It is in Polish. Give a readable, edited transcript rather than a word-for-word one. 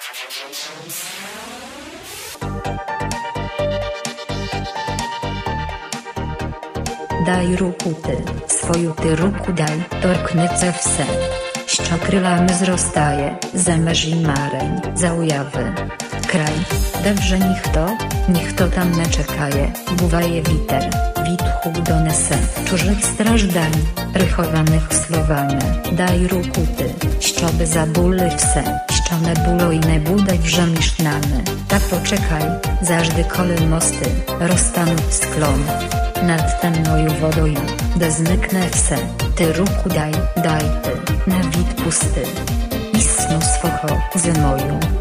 Daj ruku ty, swoju ty ruku daj, torknyce wse. Szczokrylamy zrostaje, zemerzy mareń, za ujawy. Kraj, dobrze niech to tam ne czekaje, buwaje witer, witchu donese, czurzych strażdań, rychowanych słowane, daj ruku ty, ścioby za bóle wse, ścione bulojne budaj wrzemisznane, ta poczekaj, zażdy kole mosty, roztaną w sklon. Nad temnoju wodoju, da zmyknę wse, ty ruku daj ty, na wid pusty. I snu swocho, ze moją.